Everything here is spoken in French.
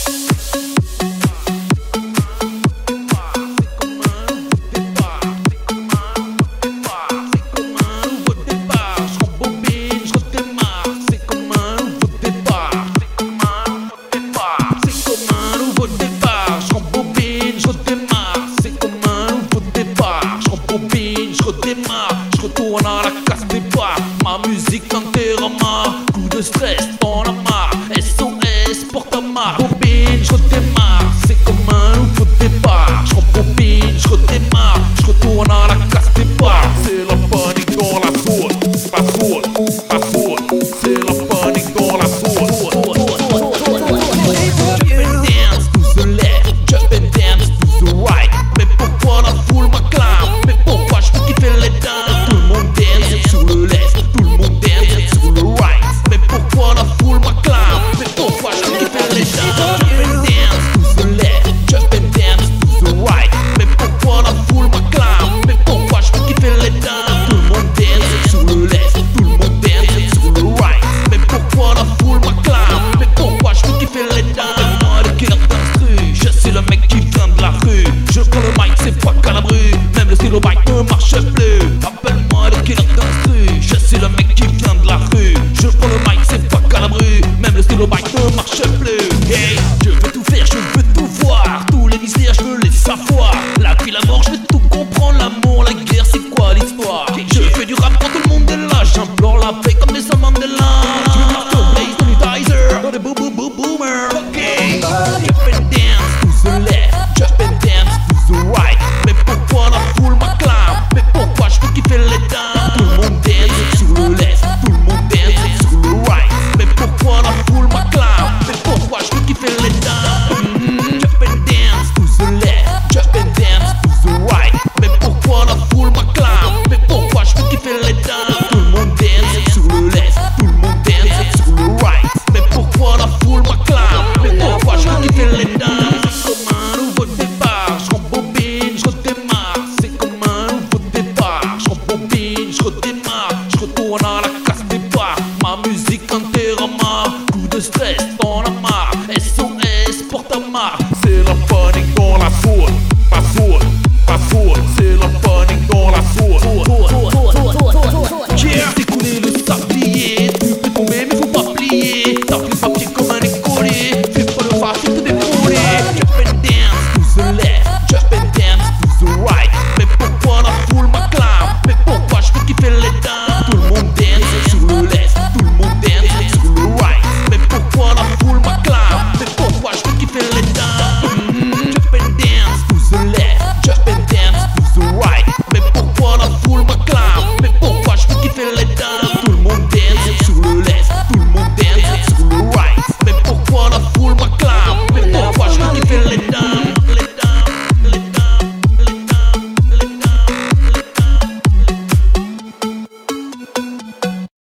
Je retourne à la casse départ. Ma musique t'enterrera. Coup de stress, t'en as marre. SOS pour ta marque. Bobine, je redémarre. C'est comme un nouveau départ. Je rembobine, je redémarre. Je retourne à la casse départ. C'est la panique dans la zone. La zone, la zone. C'est la panique dans la zone. Jump and dance to the left. Jump and dance to the right. Mais pourquoi la foule m'acclame? Mais pourquoi je veux kiffer les dames? Tout le monde dance sur le left. Tout le monde dance sur le right. Mais pourquoi la foule m'acclame? Mais pourquoi je veux kiffer les dames? Jump and dance to the left. Jump and dance to the right. Mais pourquoi la foule m'acclame? Mais pourquoi je veux kiffer les dames? Tout le monde dance sur le left. Tout le monde dance sur le right. Mais pourquoi la foule m'acclame? Mais pourquoi je veux kiffer les dames? Moi le cœur d'instru, je suis le mec qui vient de la rue. Je prends le mic, c'est pas calabru. Même le stylo bike ne marche plus. Appelle-moi le killer d'instru, je suis le mec qui vient de la rue. Je prends le mic, c'est pas calabru. Même le stylo bike ne marche plus. Hey, je veux tout faire, je veux tout voir. Tous les mystères, je veux les savoir. La vie, la mort, je veux tout comprendre. L'amour, la guerre, c'est quoi l'histoire? Je fais du rap quand tout le monde est là. J'implore la paix comme des Mandela. Je veux marteau, blaze, sanitizer. Dans des boomers. Ok, jump and dance to the left. Jump and dance to the right. Mais pourquoi la foule m'acclame? Mais pourquoi je veux kiffer les dames? Tout le monde dance sur le left. Tout le monde dance sur le right. Mais pourquoi la foule m'acclame? Mais pourquoi je veux kiffer les dames? Jump and dance to the left. Jump and dance to the right. Mais pourquoi la foule m'acclame? Mais pourquoi je veux kiffer les dames? Tout le monde dance sur le left. Tout le monde dance sur le right. Mais pourquoi la foule m'acclame? Mais pourquoi je veux kiffer les dames? C'est comme un nouveau départ. Je rembobine, je redémarre. C'est comme un nouveau départ. Je rembobine, je redémarre. Je retourne à la casse départ. Ma musique enterrama. Coup de stress, t'en as marre. SOS pour ta marque. C'est la panique dans la zone. La zone, la zone. C'est la panique dans la zone. J'ai découlé le sablier. Tu peux tomber mais faut pas plier. T'as pris le papier comme un écolier. Fais pas le face,